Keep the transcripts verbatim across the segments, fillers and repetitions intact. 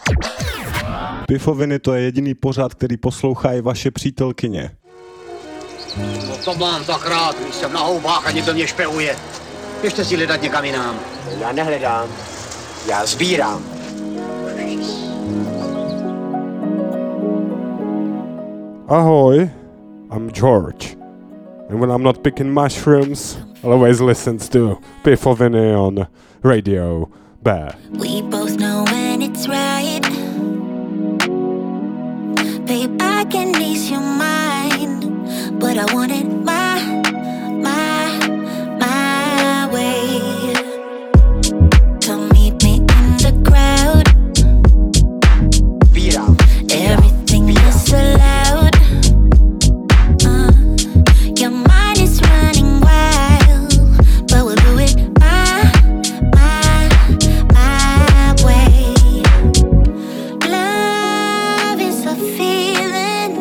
Pifoviny, to je jediný pořad, který poslouchají vaše přítelkyně. No to mám tak rád, když jsem na houbách a někdo mě špehuje. Běžte si hledat někam jinam. Já nehledám, já sbírám. Ahoy, I'm George. And when I'm not picking mushrooms, I'll always listen to Pifoviny on Radio Bear. We both know when it's right. Babe, I can ease your mind, but I want it my, my, my way. Come meet me in the crowd. Everything is so loud. Uh, your mind is running wild, but we'll do it my, my, my way. Love is a feeling,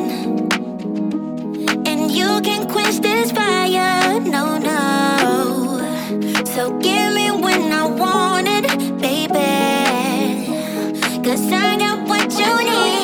and you can quench this fire, no, no. So give me when I want it, baby, 'cause I got what you need.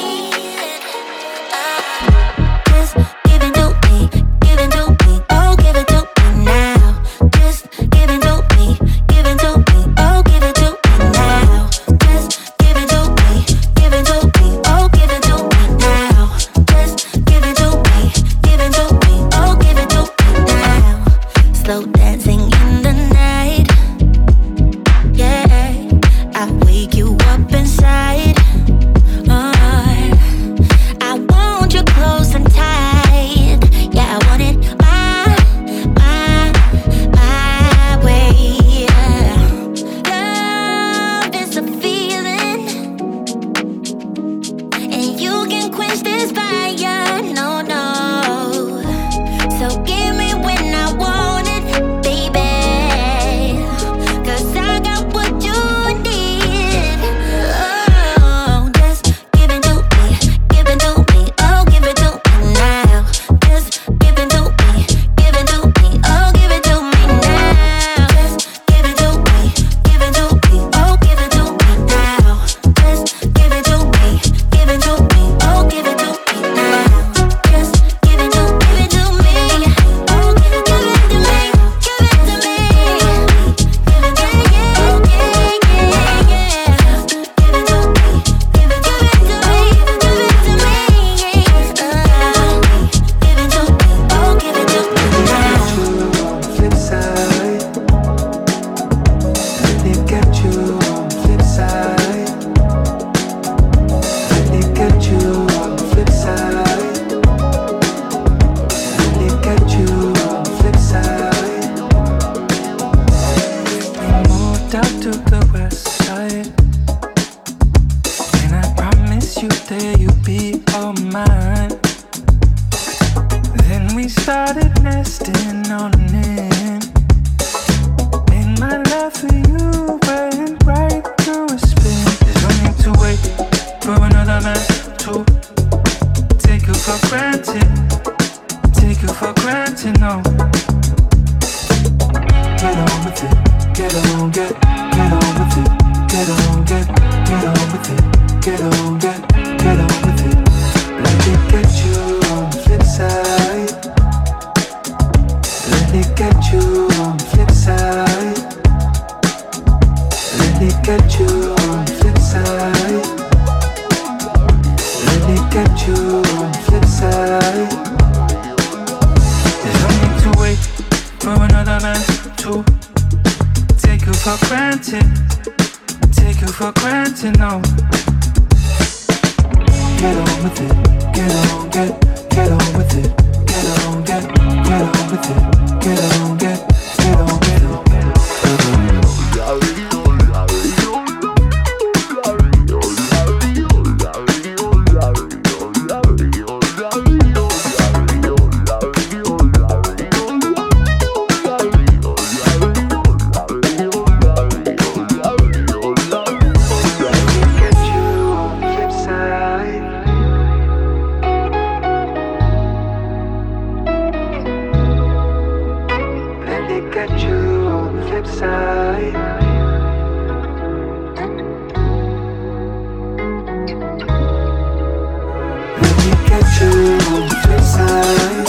you on the flip side.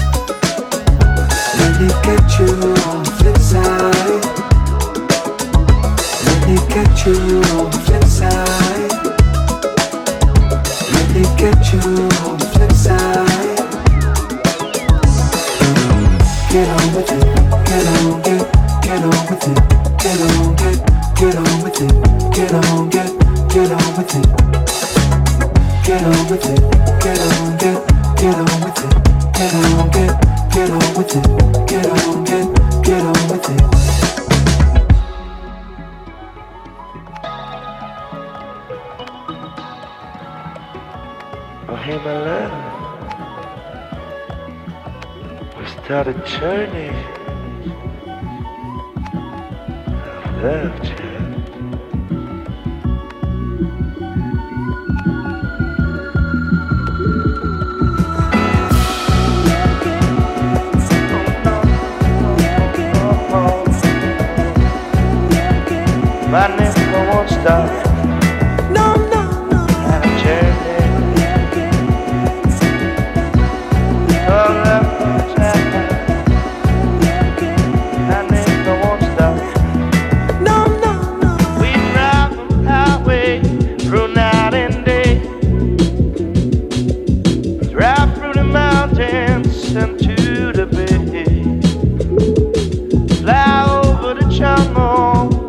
Let me get you on the flip side. Let me get you on the flip side. Let me get you on the flip side. Get on with it, get on, get, get on with it, get on, get, get on with it, get on, get, get on with it, get on with it, get on, get, get on with it, get on, get, get on with it, get on, get, get on with it. Oh hey my love, we start a journey of love, child. My nigga won't stop. No, no, no. And a journey. Oh, love, child. My nigga won't stop. No, no, no. We drive the highway through night and day. Drive through the mountains and to the bay. Fly over the jungle.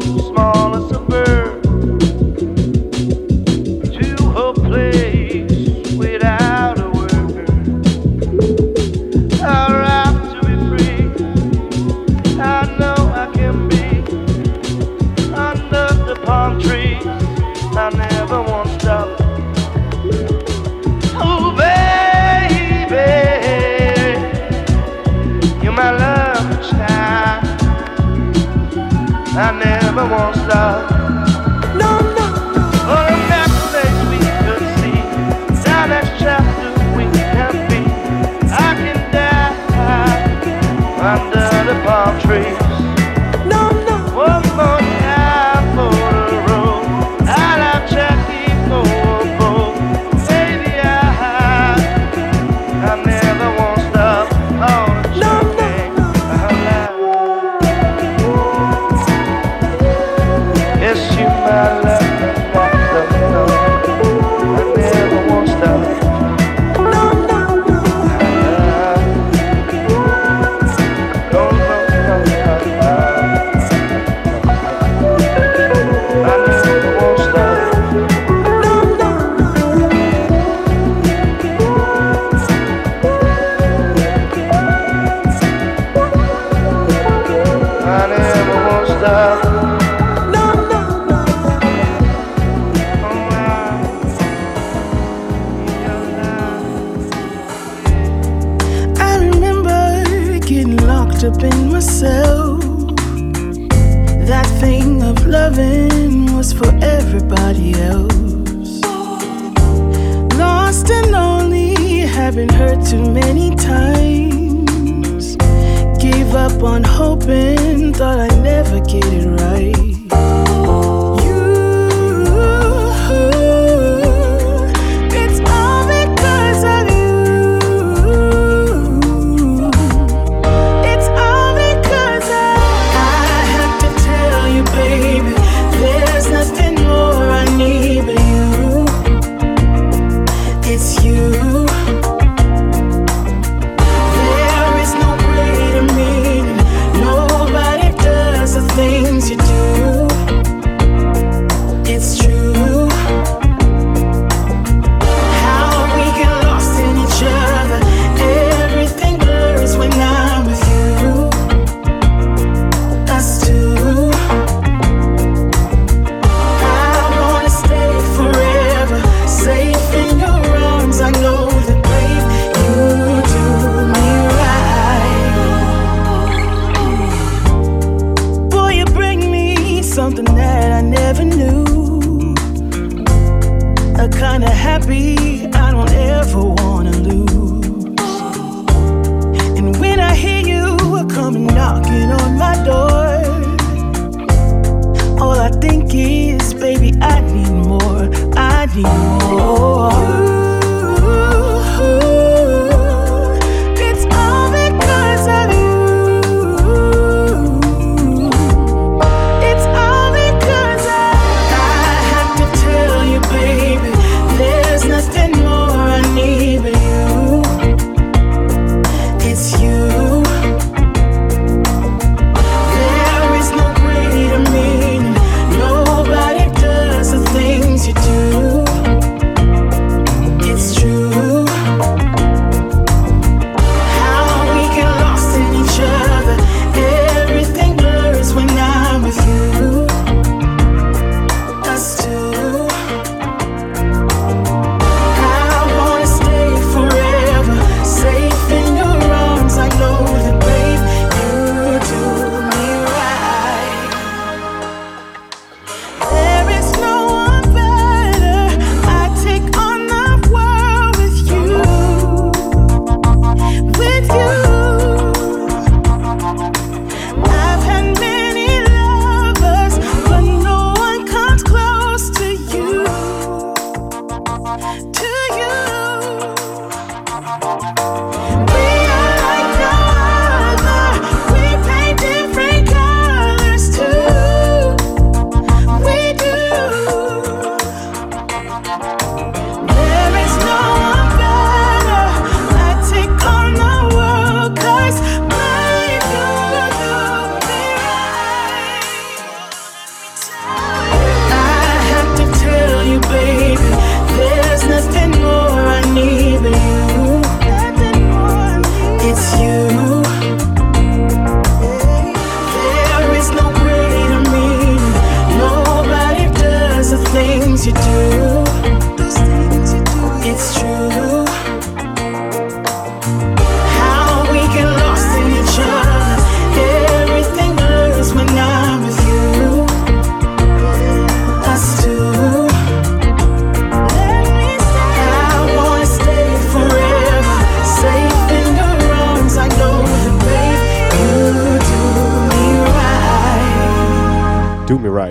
I never won't stop. No, no, no. Oh, the next place we could see, down next chapter we can be. I can die under the palm trees. No, no. One more time for the road. I love Jackie Bobo. Baby, I, I never won't stop. Oh, the no, no, no. Yes, you my love, love, love, love. I never won't stop. No, no, no. No, no, no, no. I never won't stop. No, no, no. I never won't stop. Up in myself, that thing of loving was for everybody else. Lost and lonely, having hurt too many times. Gave up on hoping, thought I'd never get it right. I need more, I need more. Ooh, ooh, ooh.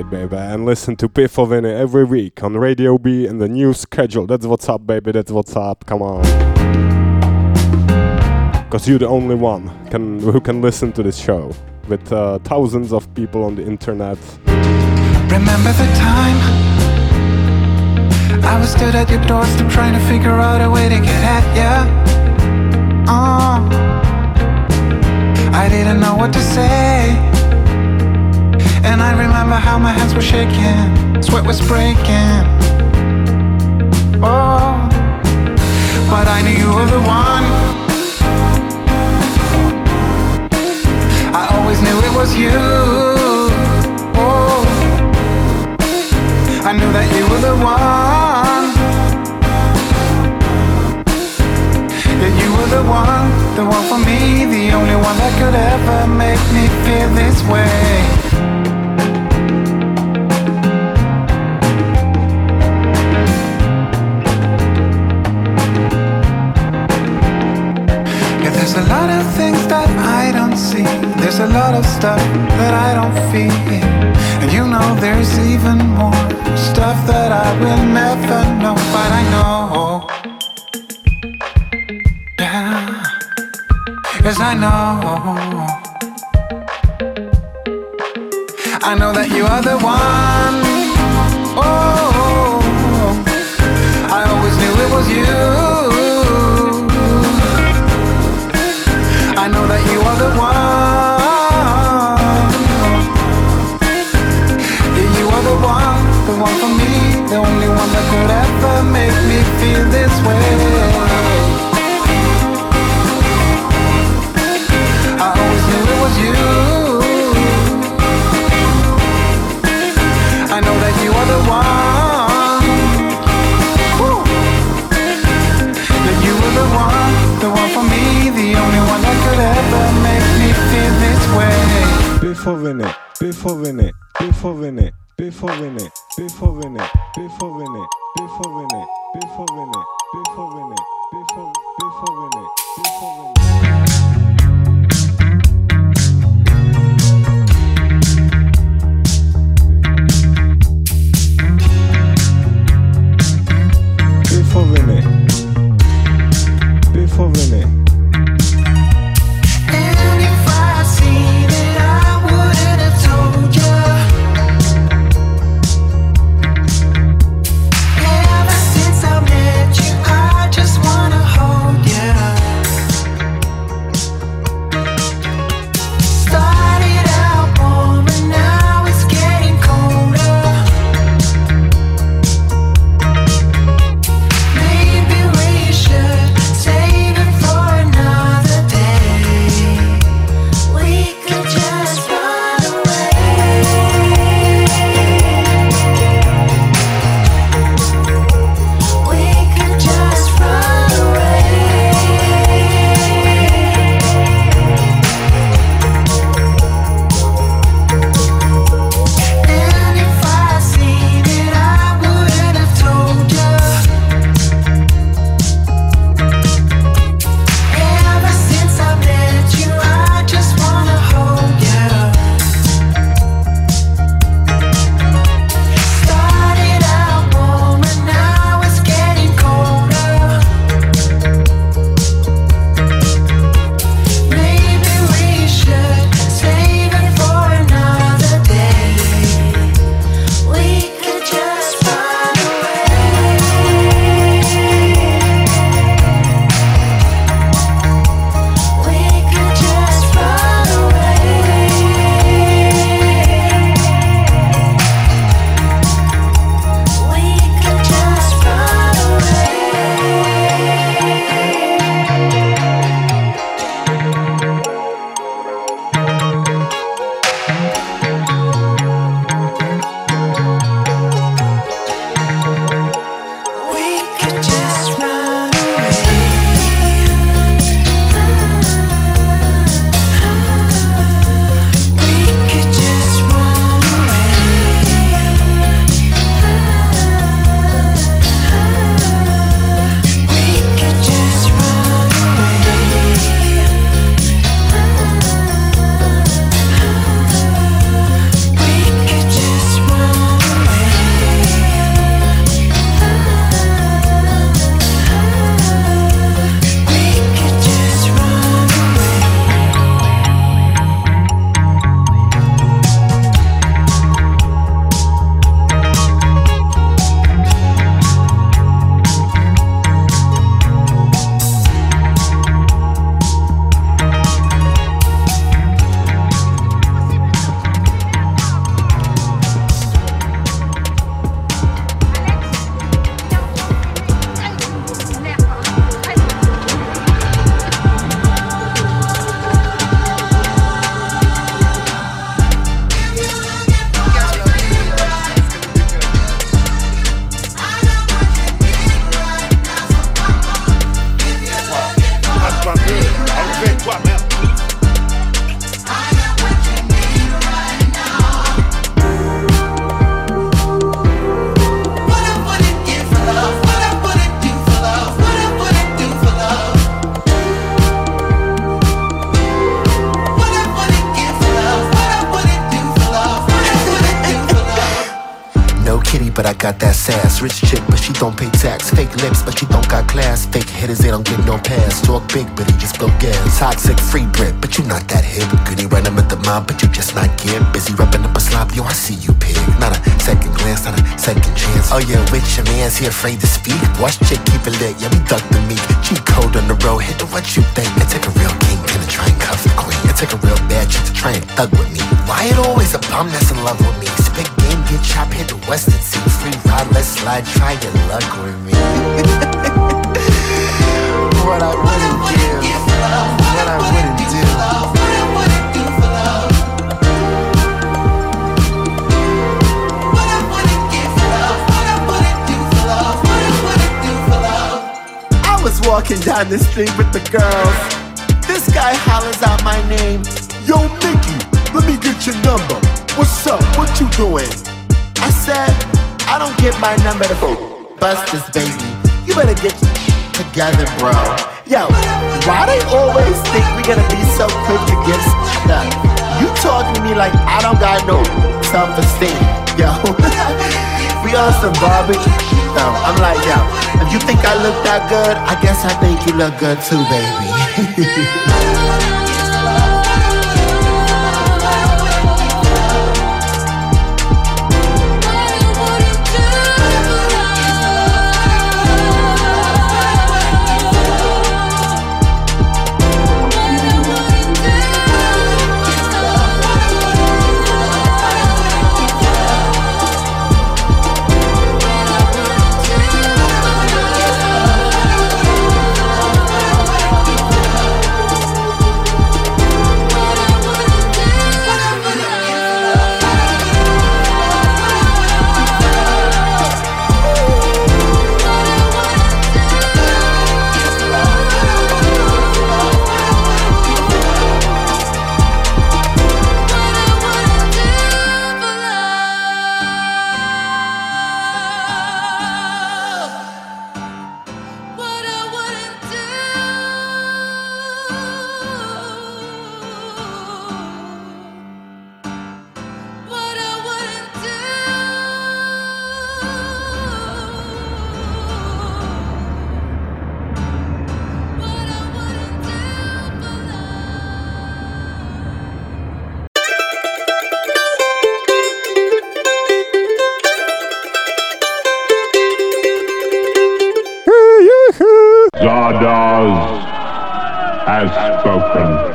baby, and listen to P four Vinny every week on Radio B in the new schedule. That's what's up, baby, that's what's up, come on. Because you're the only one can, who can listen to this show, with uh, thousands of people on the internet. Remember the time I was stood at your doorstep trying to figure out a way to get at ya. Oh, I didn't know what to say, and I remember how my hands were shaking, sweat was breaking. Oh, but I knew you were the one. I always knew it was you. Oh, I knew that you were the one. That you were the one, the one for me, the only one that could ever make me feel this way. Yeah, there's a lot of things that I don't see. There's a lot of stuff that I don't feel. And you know there's even more stuff that I will never know. But I know, yeah, yes I know, I know that you are the one. Oh, I always knew it was you. I know that you are the one. Yeah, you are the one, the one for me, the only one that could ever make me feel this way. I always knew it was you. I know that you are the one. Woo. That you are the one, the one for me, the only one that could ever make me feel this way. Before Vinny, before Vinny, before Vinny, before Vinny, before Vinny, before Vinny, before Vinny, before Vinny, before Vinny, before before Vinny, before Vinny. Before Vinny, before Vinny. And if I'd seen it, I wouldn't have told you. Ever since I met you, I just wanna hold you. I got that sass. Rich chick, but she don't pay tax. Fake lips, but she don't got class. Fake hitters, they don't get no pass. Talk big, but he just blow gas. Toxic, free Brit, but you not that hip. Goody running with the mob, but you just not get busy rubbing up a slob. Yo, I see you, pig. Not a second glance, not a second chance. Oh yeah, with your man's he afraid to speak. Watch chick, keep it lit. Yeah, we duck the meat. Cheat code on the road. Hit the what you think. It take a real kingpin to try and cuff the queen. It take a real bad chick to try and thug with me. Why it always a bum that's in love with me? Spit game, get chopped, hit the Western Sea. Free ride, let's slide, try your luck with me. What I wouldn't give, what I wouldn't do. I was walking down the street with the girls. This guy hollers out my name. Yo, Mickey, let me get your number. What's up? What you doing? I said, I don't get my number to bust this baby. You better get together, bro. Yo, why they always think we gonna be so quick to get stuck? You talking to me like I don't got no self-esteem. Yo, we on some barbecue. No, I'm like, yo, if you think I look that good, I guess I think you look good too, baby. Zardoz has spoken.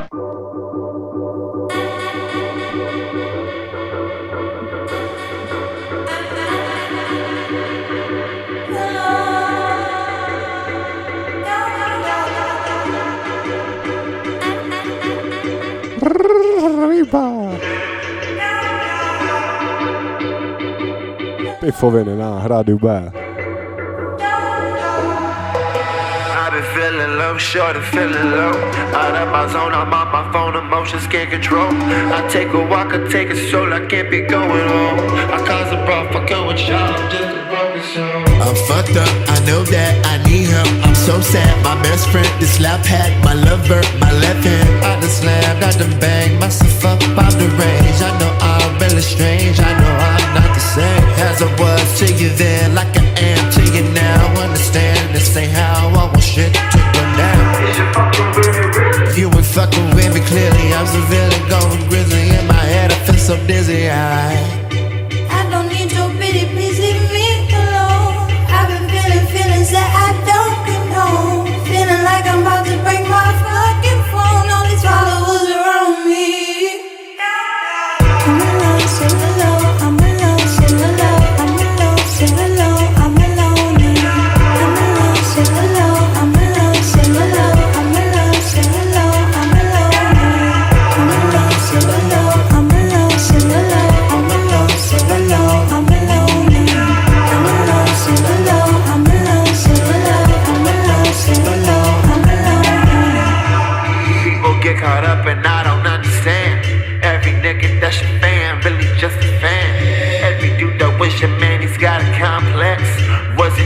Piffoviny na Rádiu B. Feeling low, short and feeling low. Out of my zone, I'm on my phone, emotions can't control. I take a walk, I take a stroll, I can't be going home. I cause a brawl, fucking with y'all, I'm just a broken soul. I'm fucked up, I know that I need help. I'm so sad, my best friend, this lap hat, my lover, my left hand. I done slammed, I done banged myself up out the range. I know I'm really strange, I know I'm not the same as I was to you then, like I am to you now. Understand, this ain't how I want shit to go down. You ain't fucking with me clearly, I'm severely going grizzly. In my head I feel so dizzy, I I don't need your pity, please leave me alone. I've been feeling feelings that I don't condone. Feeling like I'm about to break my fucking phone. All these followers around me. I'm alone, still alone. I'm alone, still alone. I'm alone, still alone. I'm alone.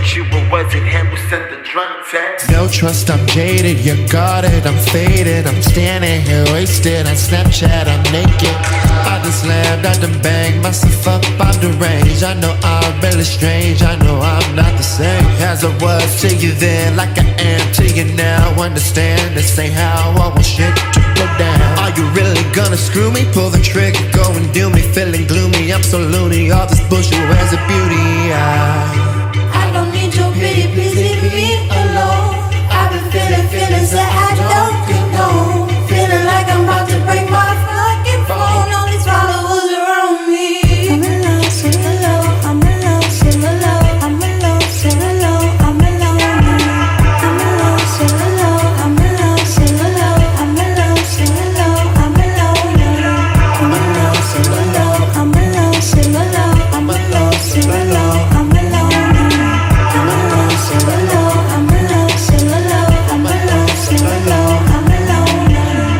you, or was it him who sent the drunk text? No trust, I'm jaded, you're guarded, I'm faded. I'm standing here wasted on Snapchat, I'm naked. I done slammed, I done banged myself up, I'm deranged. I know I'm really strange, I know I'm not the same as I was to you then, like I am to you now. Understand, this ain't how I want shit to go down. Are you really gonna screw me? Pull the trigger, go and do me. Feeling gloomy, I'm so loony. All this bullshit wears a beauty. I, I don't need your pity, please leave me alone. I've been feeling feelings that I don't condone. Feeling like I'm about to break my fucking phone. All these followers around me. I'm alone, sing alone. I'm alone, sing alone. I'm alone, sing alone. I'm alone. I'm alone, sing alone. I'm alone, sing alone. I'm alone, sing alone. I'm alone. I'm alone, sing alone. I'm alone, sing alone. I'm alone, sing alone. I'm alone. I'm alone, sing alone. I'm alone, sing alone. I'm alone, sing alone. I'm alone.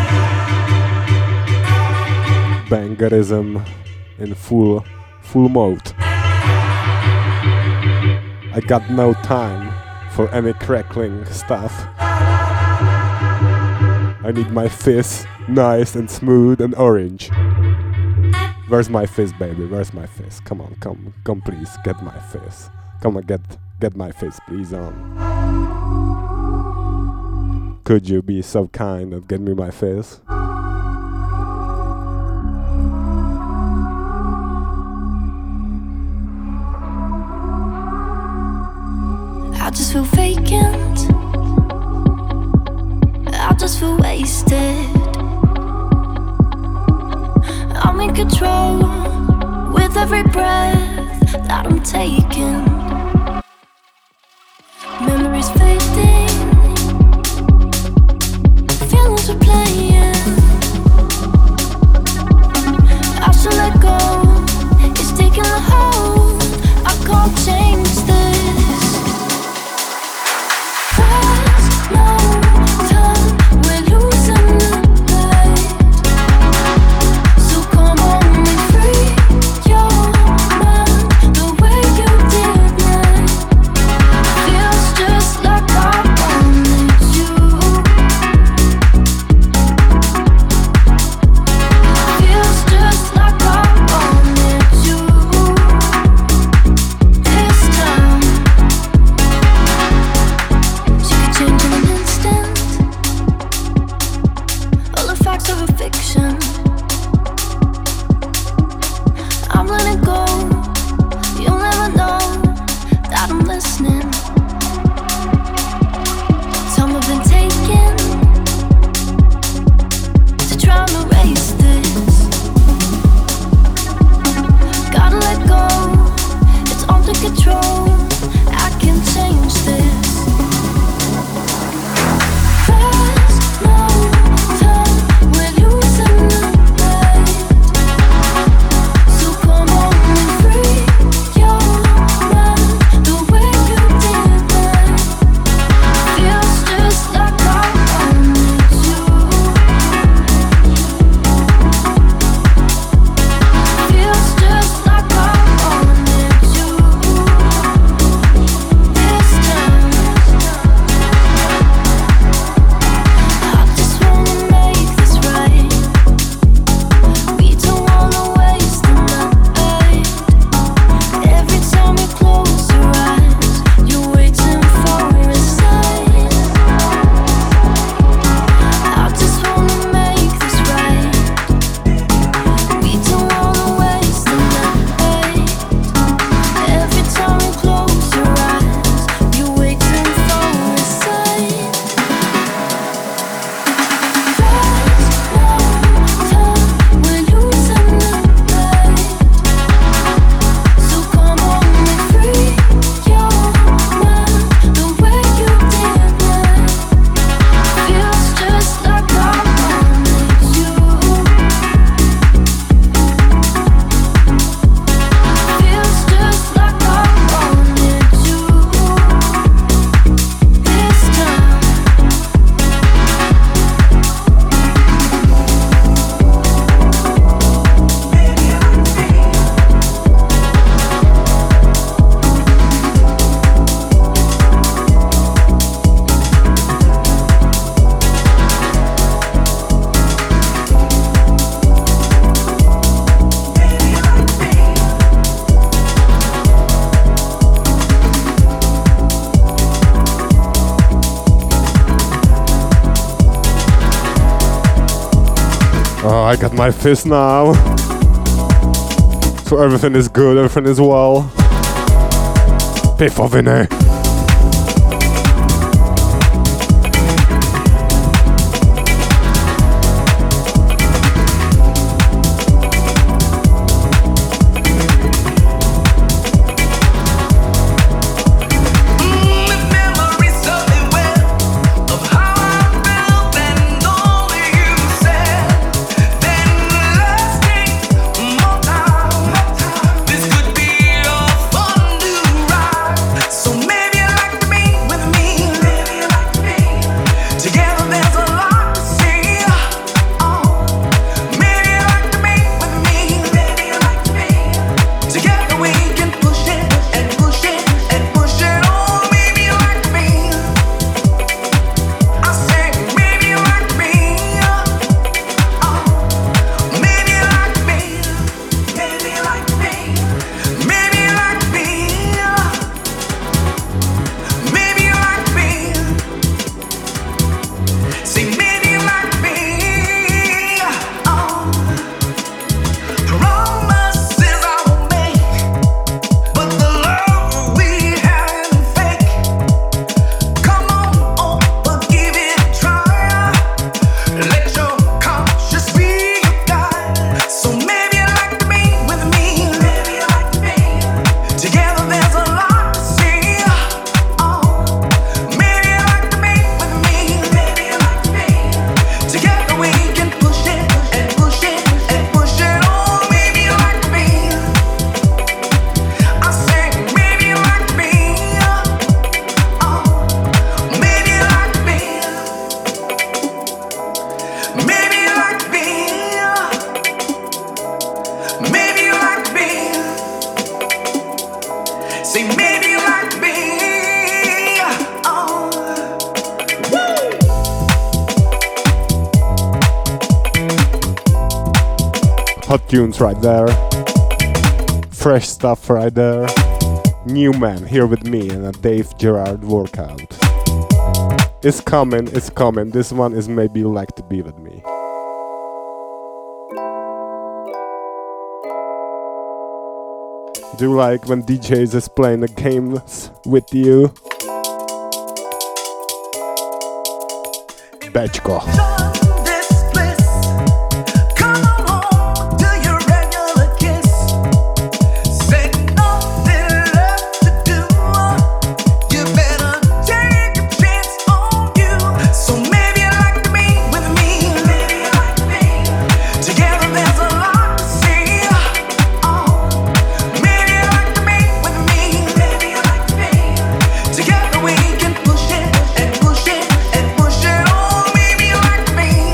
Bangerism in full full mode. I got no time for any crackling stuff. I need my fizz nice and smooth and orange. Where's my fizz, baby? Where's my fizz? Come on, come, come, please, get my fizz. Come on, get, get my fizz, please. On. Could you be so kind and get me my fizz? I just feel vacant. I just feel wasted. I'm in control with every breath that I'm taking. Memories fading, feelings are playing. I should let go, it's taking a hold. I can't change this. There's no time, we're losing the night. So come on, be free your mind the way you did Oh, I got my fist now. So everything is good, everything is well. Pifoviny. Hot tunes right there. Fresh stuff right there. New Man here with me and a Dave Gerard workout. It's coming, it's coming. This one is Maybe You Like to Be With Me. Do you like when D Js is playing the games with you? Bečko. Together we can push it and push it and push it on. Maybe you like me.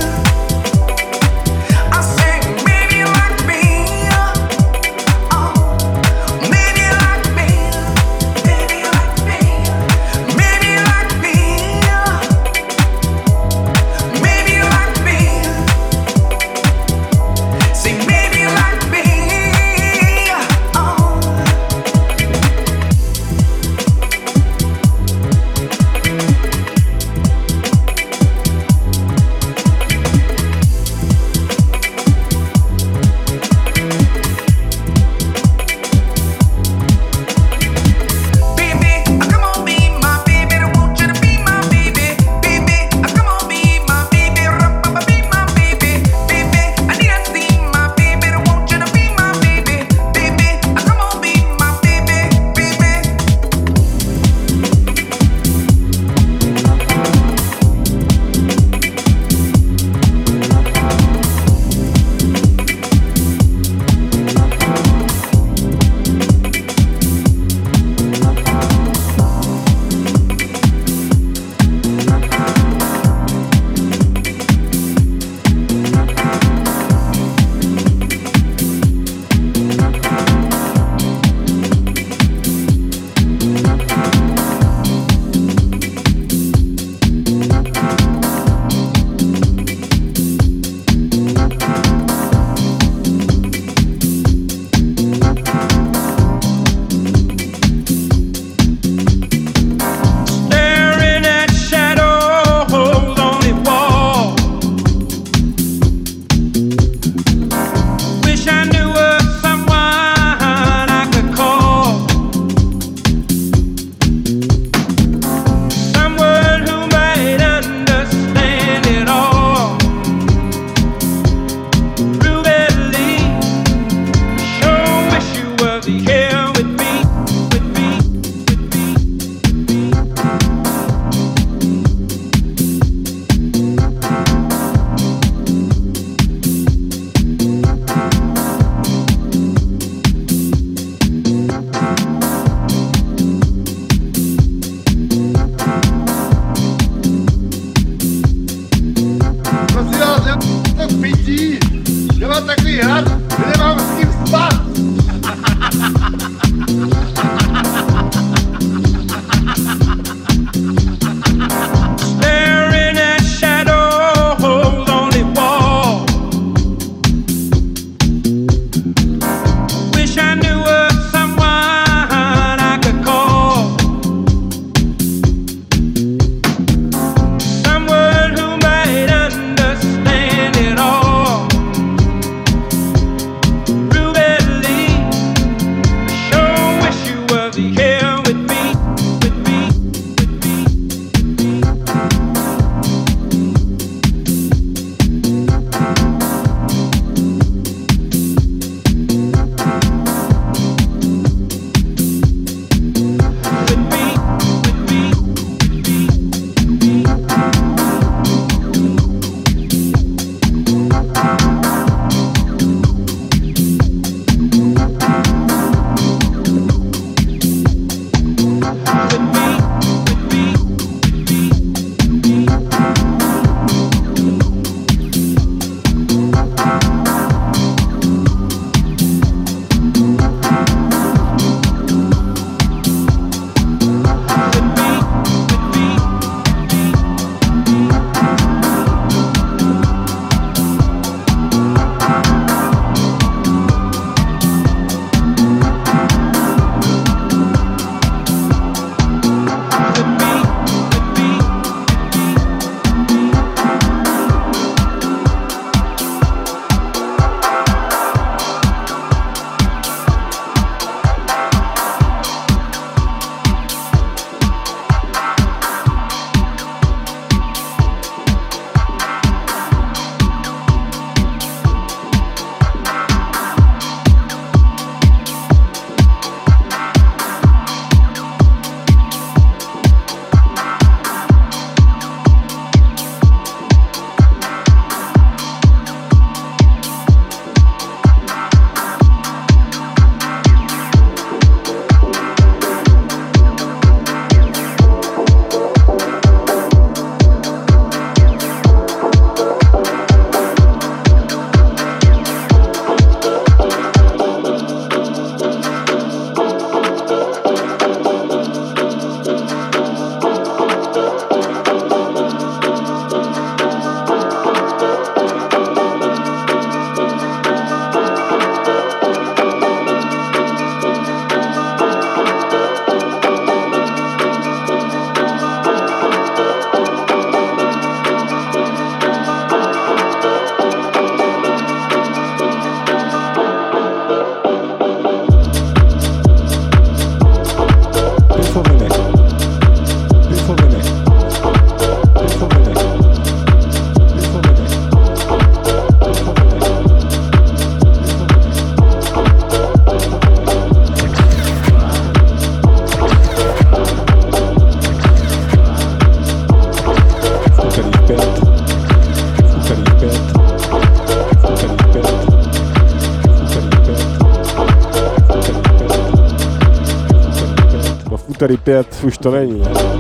úterý pět už to není.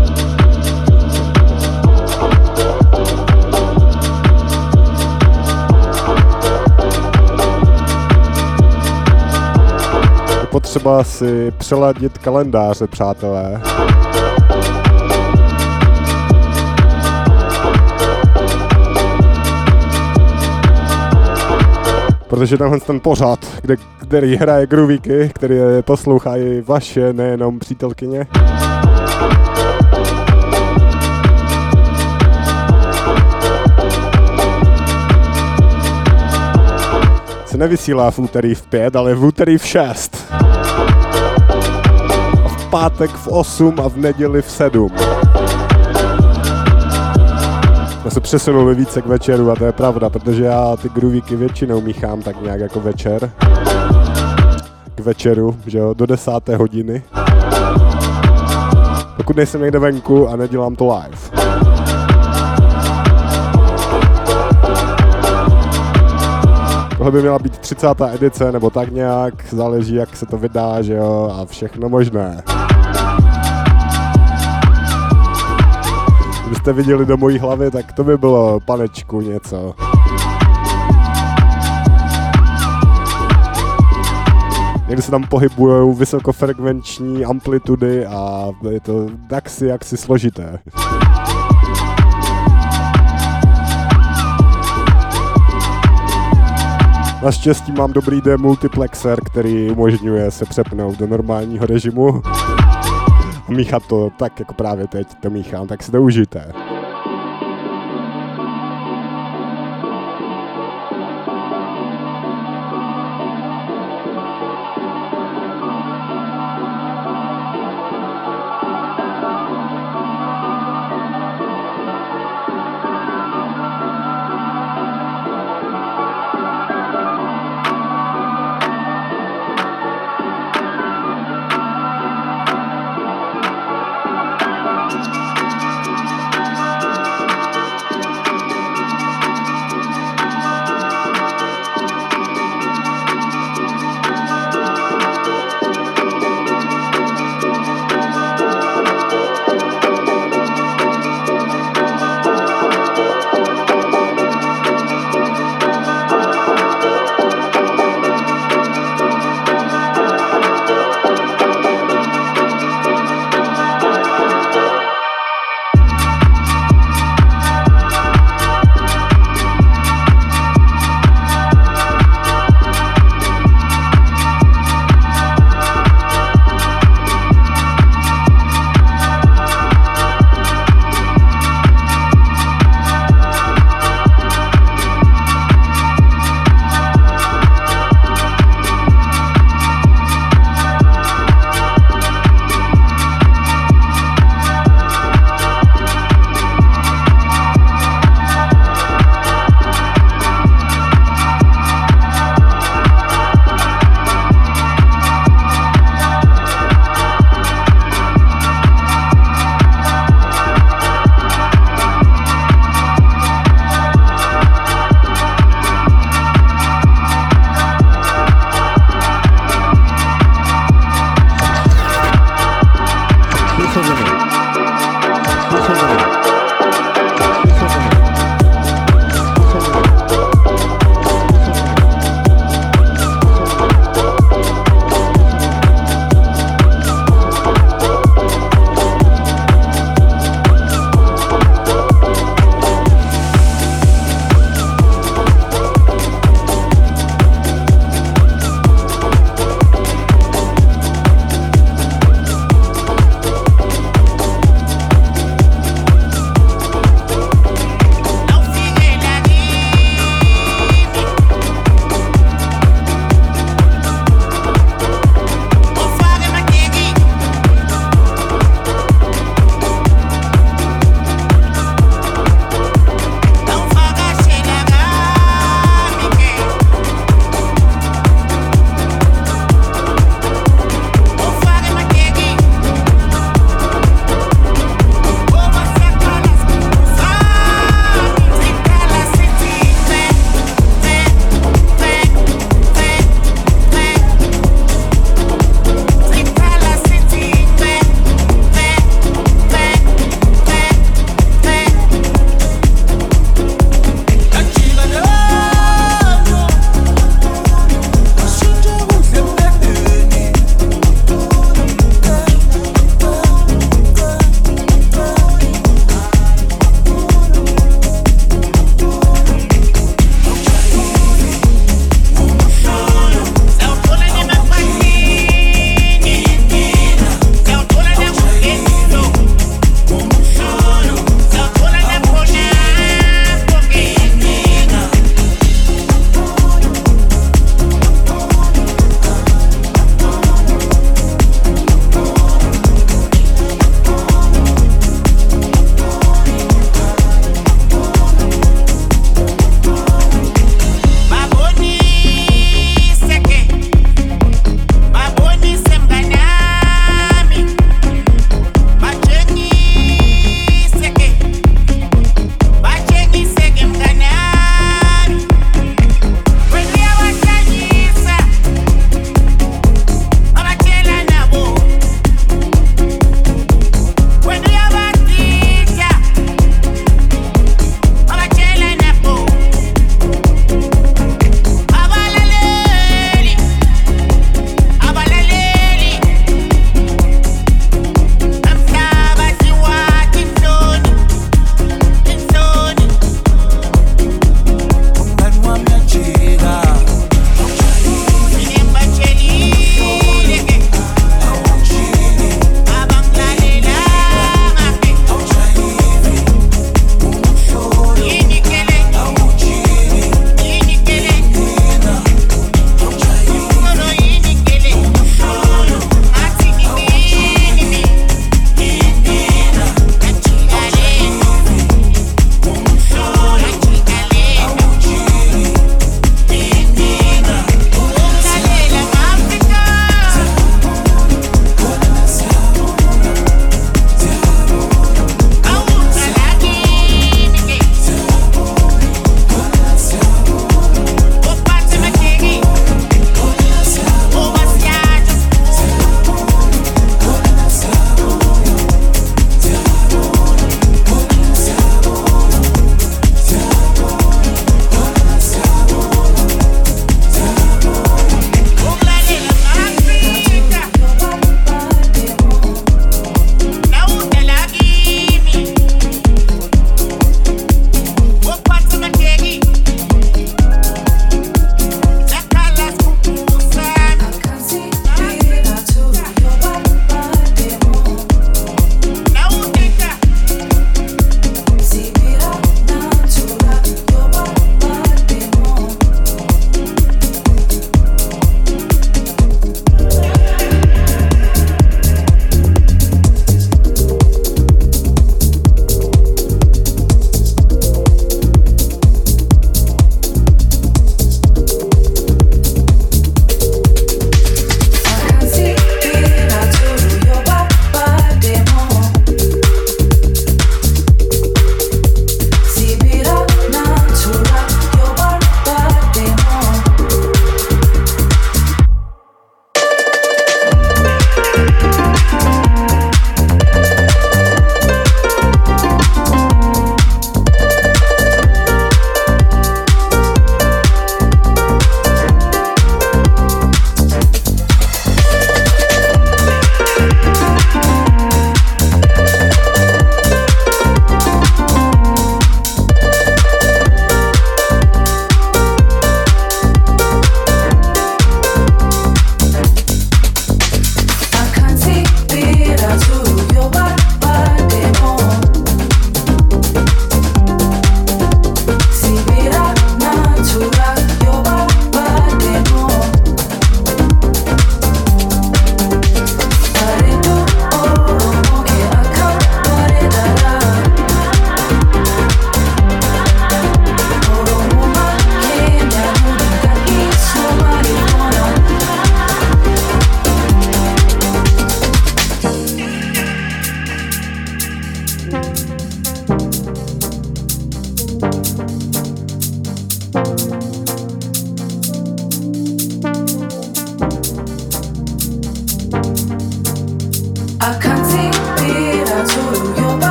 Je potřeba si přeladit kalendáře, přátelé. Protože tenhle ten pořad, kde, který hraje groovíky, který poslouchají vaše, nejenom přítelkyně. Se nevysílá v úterý v pět, ale v úterý v šest. A v pátek v osm a v neděli v sedm. Jsme se přesunuli více k večeru a to je pravda, protože já ty groovíky většinou míchám tak nějak jako večer. K večeru, že jo, do desáté hodiny. Pokud nejsem někde venku a nedělám to live. Tohle by měla být třicátá edice nebo tak nějak, záleží jak se to vydá, že jo, a všechno možné. Kdybyste viděli do mojí hlavy, tak to by bylo, panečku, něco. Někdy se tam pohybujou vysokofrekvenční amplitudy a je to taksi jaksi složité. Naštěstí mám dobrý demultiplexer, který umožňuje se přepnout do normálního režimu. A míchat to tak, jako právě teď to míchám, tak si to užijte.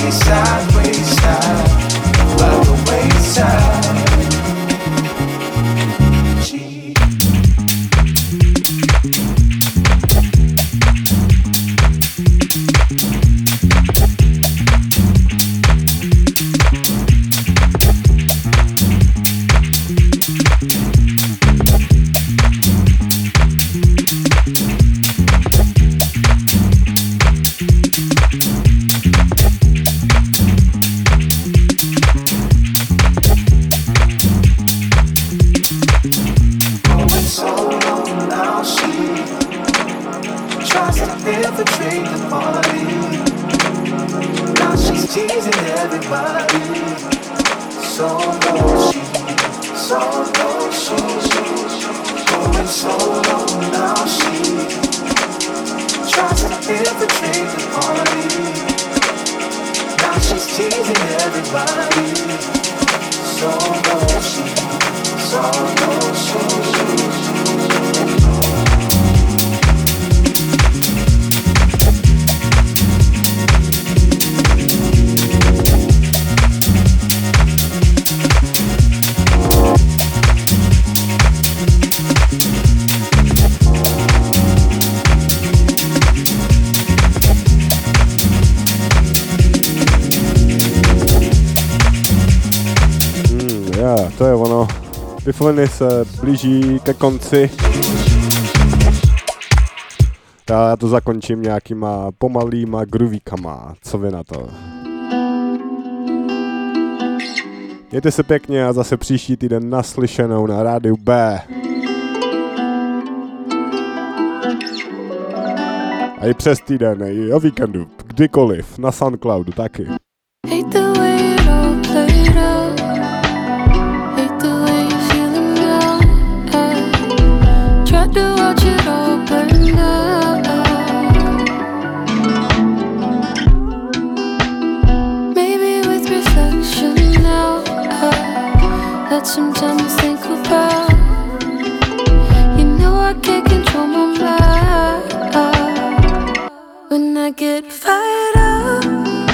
wayside, wayside, by the wayside. To je ono. Bifliny se blíží ke konci. Já to zakončím nějakýma pomalýma groovíkama. Co vy na to? Mějte se pěkně a zase příští týden naslyšenou na rádiu B. A i přes týden, i o víkendu, kdykoliv, na Soundcloudu taky. Some time to think about. You know I can't control my mind when I get fired up,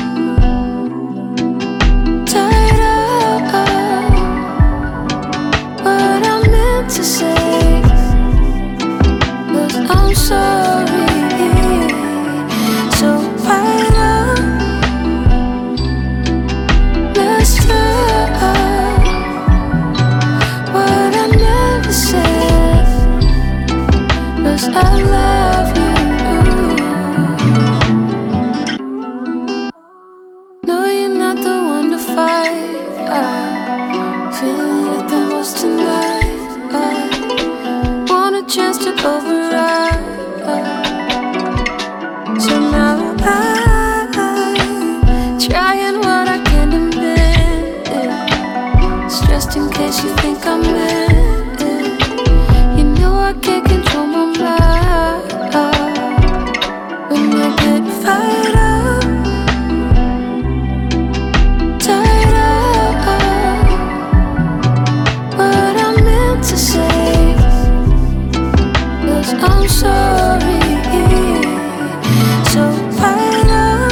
tired up. What I meant to say was I'm sorry. So fired up, messed up. I love you. No, you're not the one to fight. I'm feeling like the most tonight. I want a chance to override. So now I'm trying what I can to bend. It's just in case you think I'm in it. You know I can't control my mind. When I get fired up, tired up. What I meant to say was I'm sorry. So fired up,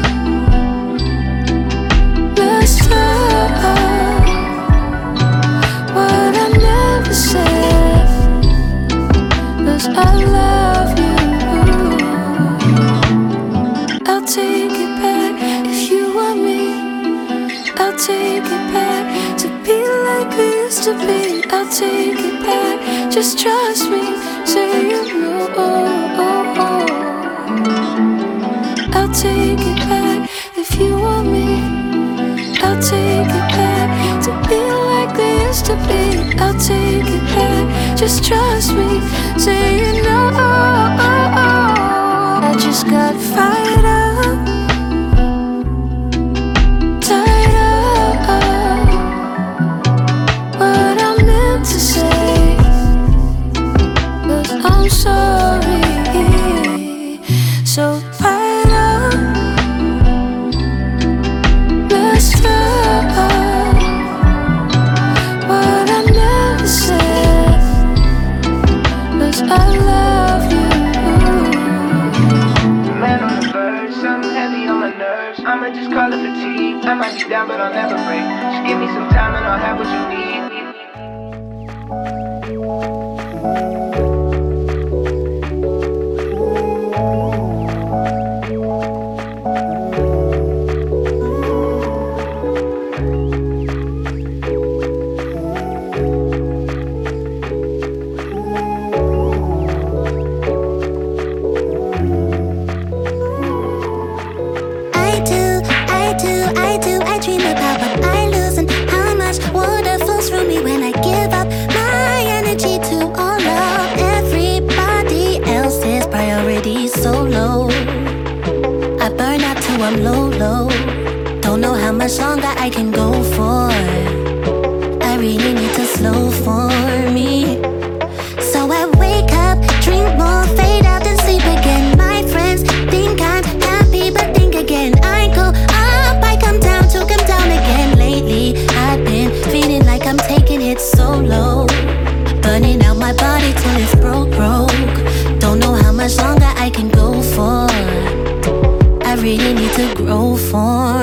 messed up. What I never said was I love you. I'll take it back if you want me. I'll take it back to be like we used to be. I'll take it back, just trust me. Say you know. I'll take it back if you want me. I'll take it back to be like we used to be. I'll take it back, just trust me. Say you know. I just got fired up, tired up. What I meant to say was I'm sorry. So fired up, messed up. What I never said was I love you. Man on the verge, something I'll have what you need. I'm low, low. Don't know how much longer I can go for. I really need to slow for me. So I wake up, drink more, fade out and sleep again. My friends think I'm happy, but think again. I go up, I come down to come down again. Lately, I've been feeling like I'm taking it so low, burning out my body till it's broke, broke. Don't know how much longer I can go for. I really need to grow for